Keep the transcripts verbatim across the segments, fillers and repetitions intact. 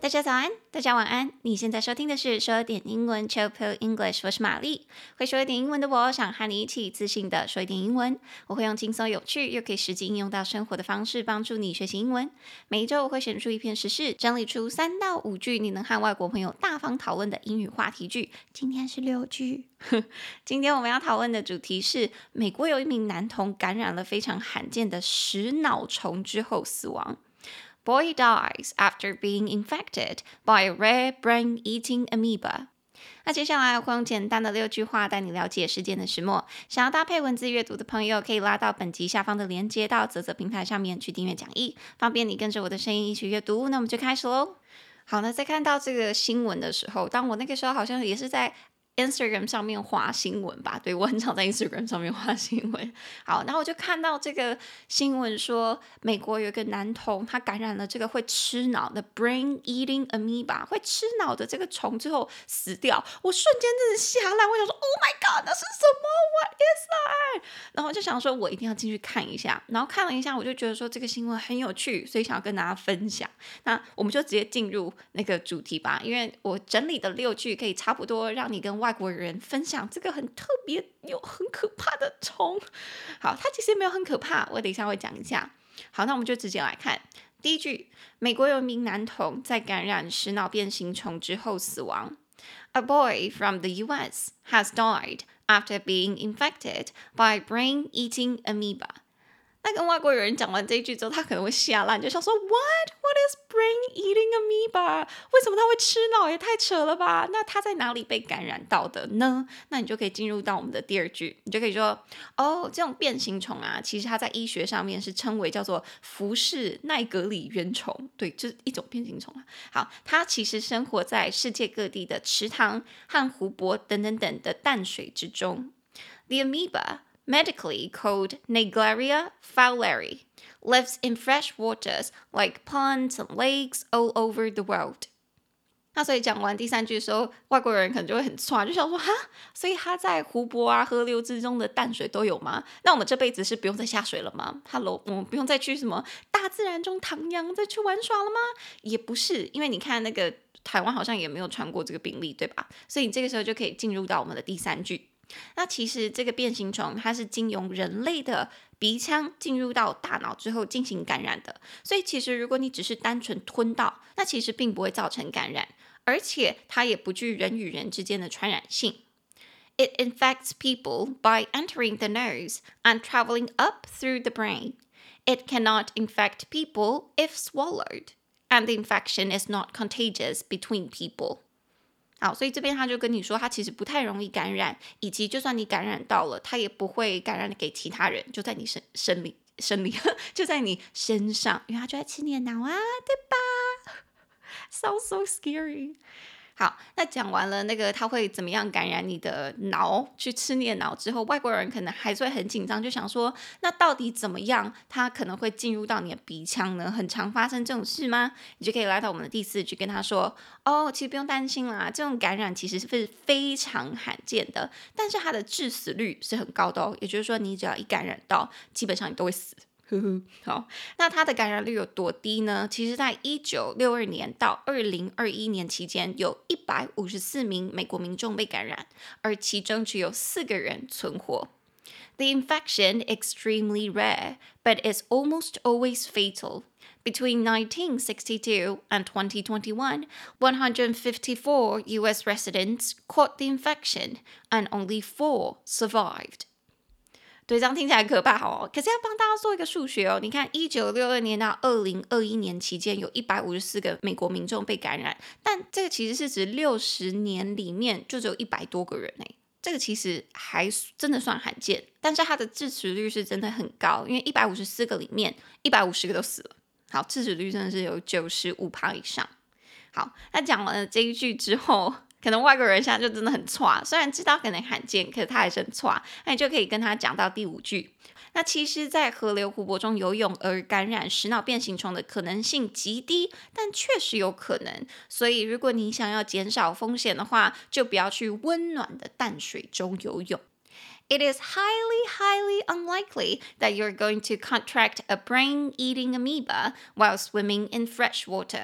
大家早安，大家晚安。你現在收聽的是說點英文 Chill Pill English， 我是瑪麗。會說一點英文的我，想和你一起自信的說一點英文。我會用輕鬆有趣又可以實際應用到生活的方式，幫助你學習英文。每一周我會選出一篇時事，整理出三到五句你能和外國朋友大方討論的英語話題句。今天是六句。今天我們要討論的主題是：美國有一名男童感染了非常罕見的食腦蟲之後死亡。Boy dies after being infected by a rare brain-eating amoeba. 那接下來我會用簡單的六句話帶你了解事件的始末。想要搭配文字閱讀的朋友，可以拉到本集下方的連結到嘖嘖平台上面去訂閱講義，方便你跟着我的聲音一起閱讀。那我們就開始嘍。好，那在看到這個新聞的時候，當我那個時候好像也是在Instagram 上面滑新聞吧，對，我很常在 Instagram 上面滑新聞。好，然後我就看到這個新聞說，美國有一個男童他感染了這個會吃腦的 brain eating amoeba， 會吃腦的這個蟲之後死掉。我瞬間真的嚇爛，我想說 Oh my God， 那是什麼 What is that？ 然後我就想說我一定要進去看一下。然後看了一下，我就覺得說這個新聞很有趣，所以想要跟大家分享。那我們就直接進入那個主題吧，因為我整理的六句可以差不多讓你跟外國人分享這個很特別又很可怕的蟲。好，它其實也沒有很可怕，我等一下會講一下。好，那我們就直接來看第一句。美國有一名男童在感染食腦變形蟲之後死亡。A boy from the U S has died after being infected by brain-eating amoeba. 那跟外國人講完這一句之後，他可能會嚇爛，就想說 What? What is brain-eating amoeba? 為什麼他會吃腦？也太扯了吧！那他在哪裡被感染到的呢？那你就可以進入到我們的第二句，你就可以說哦，這種變形蟲啊，其實它在醫學上面是稱為叫做福氏奈格里原蟲，對，就是一種變形蟲啊。好，它其實生活在世界各地的池塘和湖泊等等等的淡水之中。The amoeba, medically called Naegleria fowleri, lives in fresh waters like ponds and lakes all over the world. 那所以講完第三句的時候，外國人可能就會很錯，就想說哈，所以它在湖泊啊、河流之中的淡水都有嗎？那我們這輩子是不用再下水了嗎 ？Hello， 我們不用再去什麼大自然中徜徉、再去玩耍了嗎？也不是，因為你看那個台灣好像也沒有傳過這個病例，對吧？所以你這個時候就可以進入到我們的第三句。那其實這個變形蟲它是經由人類的鼻腔進入到大腦之後進行感染的，所以其實如果你只是單純吞到，那其實並不會造成感染，而且它也不具人與人之間的傳染性。It infects people by entering the nose and traveling up through the brain. It cannot infect people if swallowed, and the infection is not contagious between people.好，所以這邊他就跟你說，他其實不太容易感染，以及就算你感染到了，他也不會感染給其他人，就在你身身裡身裡，就在你身上，因為他就在吃你的腦啊，對吧 ？Sounds so scary。好，那講完了那個他會怎麼樣感染你的腦，去吃你的腦之後，外國人可能還是會很緊張，就想說，那到底怎麼樣，他可能會進入到你的鼻腔呢？很常發生這種事嗎？你就可以來到我們的第四句，跟他說，哦，其實不用擔心啦，這種感染其實是非常罕見的，但是它的致死率是很高的哦，也就是說，你只要一感染到，基本上你都會死。呵呵，好，那它的感染率有多低呢？其實在一九六二年到二零二一年期間，有一百五十四名美國民眾被感染，而其中只有四個人存活。The infection extremely rare, but is almost always fatal. Between nineteen sixty-two and twenty twenty-one, one hundred fifty-four U S residents caught the infection, and only four survived.對，這樣聽起來可怕哦。可是要幫大家做一個數學哦。你看，一九六二年到二零二一年期間，有一百五十四個美國民眾被感染，但這個其實是指六十年裡面就只有一百多個人誒。這個其實還真的算罕見，但是它的致死率是真的很高，因為一百五十四個裡面，一百五十個都死了。好，致死率真的是有九十五趴以上。好，那講完了這一句之後，可能外國人現在就真的很挫，雖然知道可能罕見，可是他還是很挫。那你就可以跟他講到第五句。那其實，在河流、湖泊中游泳而感染食腦變形蟲的可能性極低，但確實有可能。所以，如果你想要減少風險的話，就不要去溫暖的淡水中游泳。It is highly, highly unlikely that you're going to contract a brain-eating amoeba while swimming in fresh water.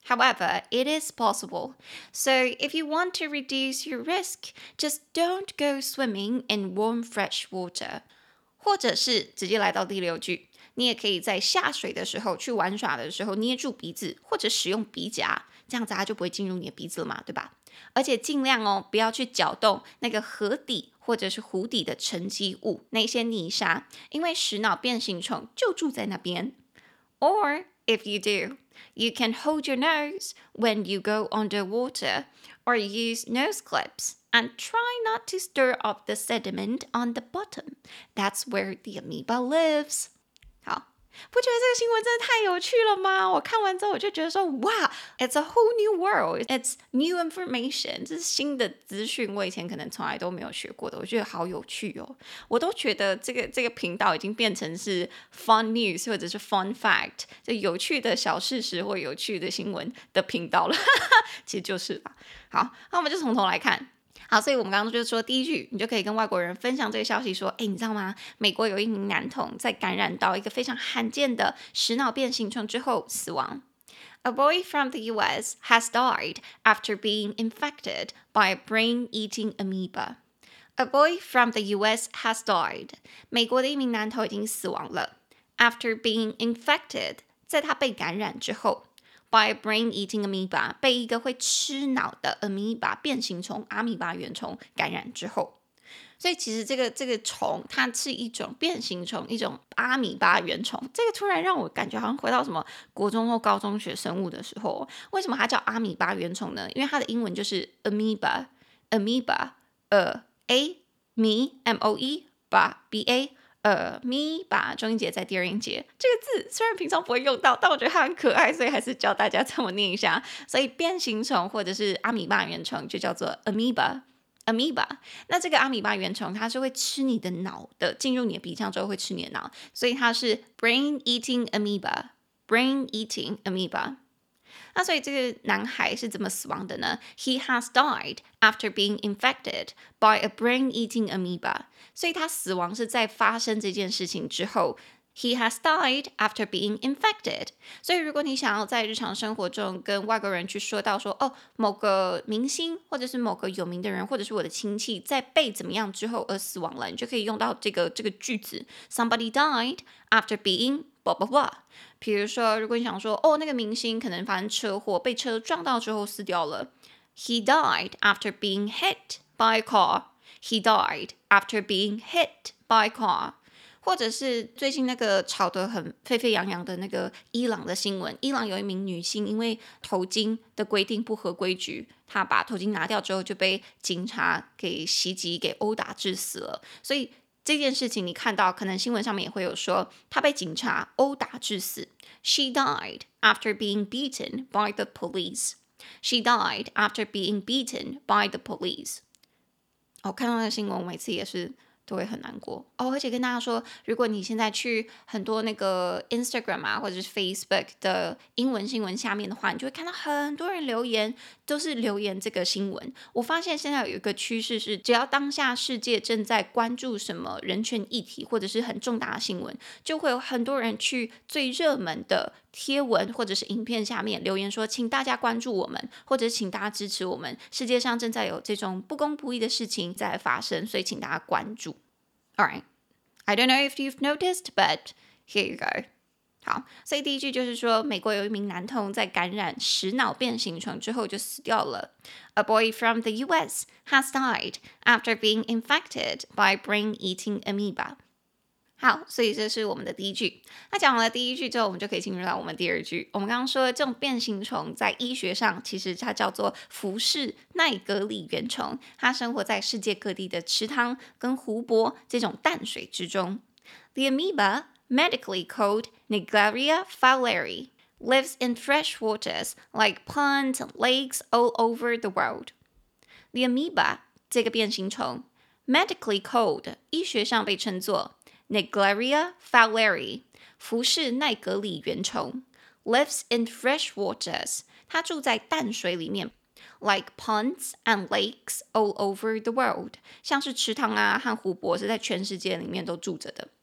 However, it is possible. So if you want to reduce your risk, just don't go swimming in warm fresh water. 或者是直接来到第六句，你也可以在下水的時候去玩耍的時候捏住鼻子，或者使用鼻夾，這樣子它就不會進入你的鼻子了嘛，對吧？而且盡量哦，不要去攪動那個河底或者是湖底的沉積物，那些泥沙，因為石腦變形蟲就住在那邊。Or if you do, you can hold your nose when you go underwater, or use nose clips and try not to stir up the sediment on the bottom. That's where the amoeba lives. 好，不覺得這個新聞真的太有趣了嗎？我看完之後我就覺得說，哇 ，It's a whole new world. It's new information. 這是新的資訊，我以前可能從來都沒有學過的，我覺得好有趣哦。我都覺得這個這個頻道已經變成是 fun news 或者是 fun fact， 就有趣的小事實或有趣的新聞的頻道了。其實就是啦。好，那我們就從頭來看。好，所以我們剛剛就說第一句，你就可以跟外國人分享這個消息，說，哎，你知道嗎？美國有一名男童在感染到一個非常罕見的石腦變形蟲之後死亡。A boy from the U S has died after being infected by a brain-eating amoeba. A boy from the U S has died. 美國的一名男童已經死亡了。After being infected， 在他被感染之後。By a brain-eating amoeba， 被一個會吃腦的 amoeba 變形蟲阿米巴原蟲感染之後，所以其實這個這個蟲它是一種變形蟲，一種阿米巴原蟲。這個突然讓我感覺好像回到什麼國中或高中學生物的時候。為什麼它叫阿米巴原蟲呢？因為它的英文就是 amoeba，amoeba， 呃 a me m o e 把 b a。呃，咪把中音節在第二音節，這個字雖然平常不會用到，但我覺得它很可愛，所以還是教大家這麼念一下。所以變形蟲或者是阿米巴原蟲就叫做 amoeba。amoeba， 那這個阿米巴原蟲它是會吃你的腦的，進入你的鼻腔之後會吃你的腦，所以它是 brain eating amoeba。brain eating amoeba。那所以這個男孩是怎麼死亡的呢？ He has died after being infected by a brain-eating amoeba. 所以他死亡是在發生這件事情之後。He has died after being infected. 所以如果你想要在日常生活中跟外國人去說到說，哦，某個明星或者是某個有名的人，或者是我的親戚在被怎麼樣之後而死亡了，你就可以用到這個這個句子 Somebody died after being blah blah blah。比如說，如果你想說，哦，那個明星可能發生車禍，被車撞到之後死掉了。He died after being hit by a car. He died after being hit by a car. 或者是最近那個吵得很沸沸揚揚的那個伊朗的新聞，伊朗有一名女星因為頭巾的規定不合規矩，她把頭巾拿掉之後就被警察給襲擊、給毆打致死了。所以這件事情你看到，可能新聞上面也會有說，她被警察毆打致死。She died after being beaten by the police. She died after being beaten by the police. 哦，看到那個新聞，我每次也是都會很難過哦，而且跟大家說，如果你現在去很多那個 Instagram 啊，或者是 Facebook 的英文新聞下面的話，你就會看到很多人留言，都是留言這個新聞。我發現現在有一個趨勢是，只要當下世界正在關注什麼人權議題，或者是很重大的新聞，就會有很多人去最熱門的貼文或者是影片下面留言說，請大家關注我們，或者請大家支持我們。世界上正在有這種不公不義的事情在發生，所以請大家關注。Alright, I don't know if you've noticed, but here you go. 好，所以第一句就是說，美國有一名男童在感染石腦變形蟲之後就死掉了。A boy from the U S has died after being infected by brain-eating amoeba. 好，所以這是我們的第一句。那講完了第一句之後，我們就可以進入到我們第二句。我們剛剛說的這種變形蟲在醫學上其實它叫做浮氏奈格里原蟲，它生活在世界各地的池塘跟湖泊這種淡水之中。The amoeba, medically called Naegleria fowleri, lives in fresh waters like ponds and lakes all over the world. The amoeba 這個變形蟲 medically called 醫學上被稱作Naegleria fowleri, 浮氏奈格里原蟲 lives in fresh waters, 它住在淡水裡面 like ponds and lakes all over the world, 像是池塘啊和湖泊是在全世界裡面都住着的。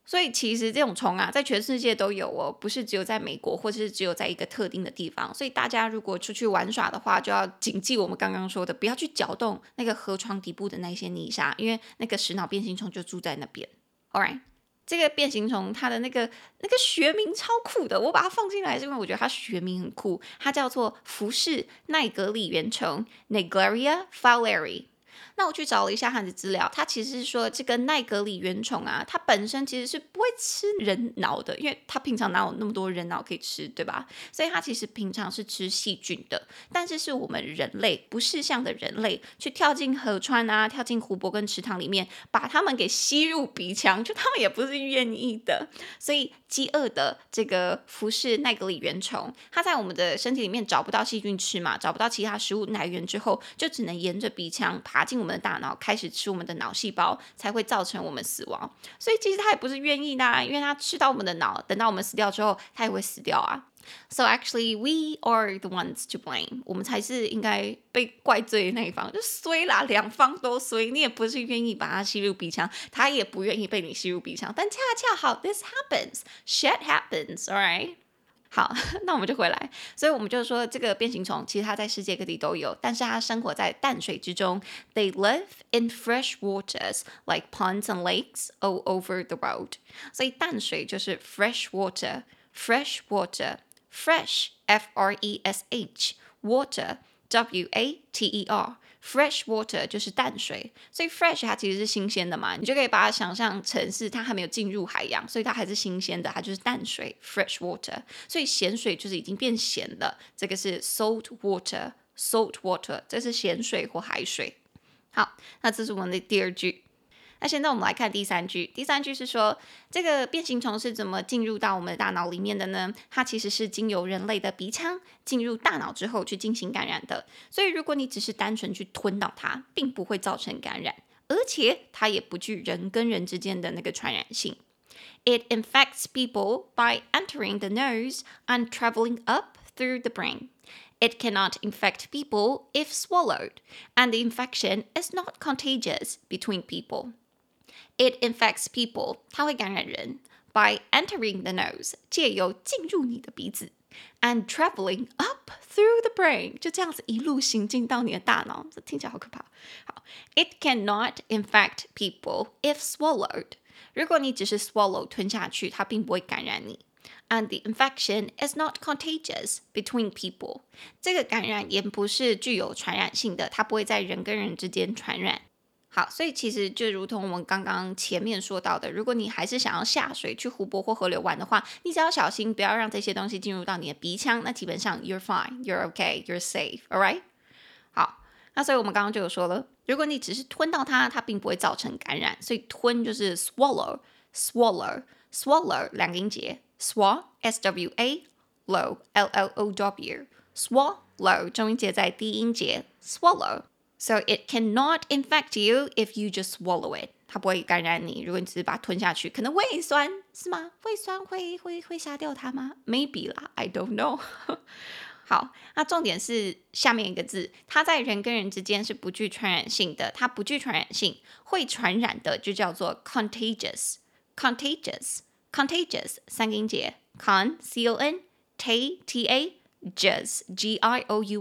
所以其實這種蟲啊，在全世界都有哦，不是只有在美國，或者是只有在一個特定的地方。所以大家如果出去玩耍的話，就要謹記我們剛剛說的，不要去攪動那個河床底部的那些泥沙，因為那個石腦變形蟲就住在那邊。Alright， 這個變形蟲它的那個那個學名超酷的，我把它放進來是因為我覺得它學名很酷，它叫做浮氏奈格里原蟲 Naegleria fowleri。那我去找了一下它的資料，它其實是說這個奈格里原蟲啊，它本身其實是不會吃人腦的，因為它平常哪有那麼多人腦可以吃，對吧？所以它其實平常是吃細菌的。但是是我們人類不識相的人類去跳進河川啊，跳進湖泊跟池塘裡面，把它們給吸入鼻腔，就它們也不是願意的。所以飢餓的這個浮氏奈格里原蟲，它在我們的身體裡面找不到細菌吃嘛，找不到其他食物來源之後，就只能沿着鼻腔爬進我們的大腦，開始吃我們的腦細胞，才會造成我們死亡。所以其實它也不是願意的啊，因為它吃到我們的腦，等到我們死掉之後，它也會死掉啊。So actually, we are the ones to blame. 我們才是應該被怪罪的那一方，就衰啦，兩方都衰。你也不是願意把它吸入鼻腔，它也不願意被你吸入鼻腔。但恰恰好 ，this happens, shit happens, alright? 好，那我們就回來。所以我們就說，這個變形蟲其實它在世界各地都有，但是它生活在淡水之中。They live in fresh waters like ponds and lakes all over the world. 所以淡水就是 fresh water, fresh water.Fresh, F R E S H, water, W A T E R, fresh water 就是淡水，所以 fresh 它其實是新鮮的嘛，你就可以把它想象成是它還沒有進入海洋，所以它還是新鮮的，它就是淡水 fresh water。所以鹹水就是已經變鹹了，這個是 salt water, salt water， 這是鹹水或海水。好，那這是我們的第二句。那現在我們來看第三句。第三句是說，這個變形蟲是怎麼進入到我們的大腦裡面的呢？它其實是經由人類的鼻腔進入大腦之後去進行感染的。所以如果你只是單純去吞到它，並不會造成感染，而且它也不具人跟人之間的那個傳染性。It infects people by entering the nose and traveling up through the brain.It cannot infect people if swallowed, and the infection is not contagious between people.It infects people, 它會感染人 by entering the nose, 借由進入你的鼻子 and traveling up through the brain, 就這樣子一路行進到你的大腦，這聽起來好可怕。好 It cannot infect people if swallowed. 如果你只是 swallow 吞下去，它並不會感染你。And the infection is not contagious between people. 這個感染也不是具有傳染性的，它不會在人跟人之間傳染。好，所以其實就如同我們剛剛前面說到的，如果你還是想要下水去湖泊或河流玩的話，你只要小心不要讓這些東西進入到你的鼻腔，那基本上 you're fine, you're okay, you're safe, alright? 好，那所以我們剛剛就有說了，如果你只是吞到它，它並不會造成感染，所以吞就是 swallow, swallow, swallow 兩個音節 ，swallow, S W A, low, L L O W, swallow 中音節在低音節 swallow.So it cannot infect you if you just swallow it. 它不會感染你，如果你只是把它吞下去，可能胃酸是嗎？胃酸會會會殺掉它嗎 ？Maybe 啦 ，I don't know 。好，那重點是下面一個字，它在人跟人之間是不具傳染性的，它不具傳染性，會傳染的就叫做 contagious，contagious，contagious contagious, 三個音節 con c o n t t a gus g i o u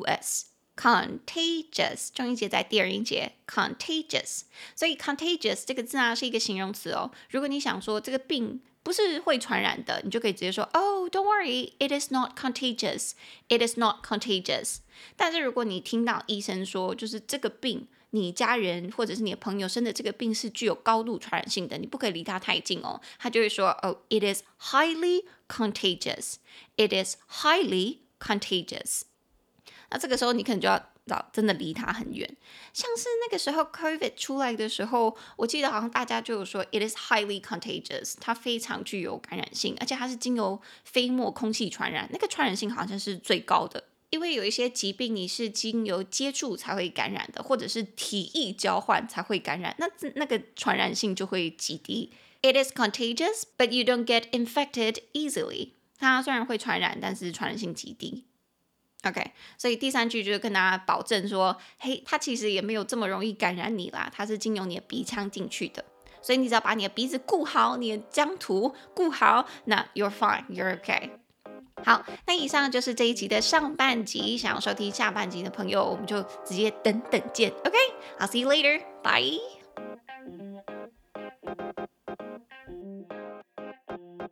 s。Contagious 重音節在第二音節 contagious， 所以 contagious 這個字啊是一個形容詞哦。如果你想說這個病不是會傳染的，你就可以直接說 Oh, don't worry, it is not contagious. It is not contagious. 但是如果你聽到醫生說，就是這個病，你家人或者是你的朋友生的這個病是具有高度傳染性的，你不可以離他太近哦。他就會說 Oh, it is highly contagious. It is highly contagious.那這個時候你可能就要真的離它很遠，像是那個時候 COVID 出來的時候，我記得好像大家就有說 It is highly contagious， 它非常具有感染性，而且它是經由飛沫空氣傳染，那個傳染性好像是最高的，因為有一些疾病你是經由接觸才會感染的，或者是體液交換才會感染，那那個傳染性就會極低。It is contagious, but you don't get infected easily。它雖然會傳染，但是傳染性極低。OK， 所以第三句就是跟大家保證說，嘿，它其實也沒有這麼容易感染你啦，它是經由你的鼻腔進去的。 所以你只要把你的鼻子顧好，你的疆土顧好，那 you're fine, you're okay。好，那以上就是這一集的上半集。想要收聽下半集的朋友，我們就直接等等見。OK，I'll see you later. Bye.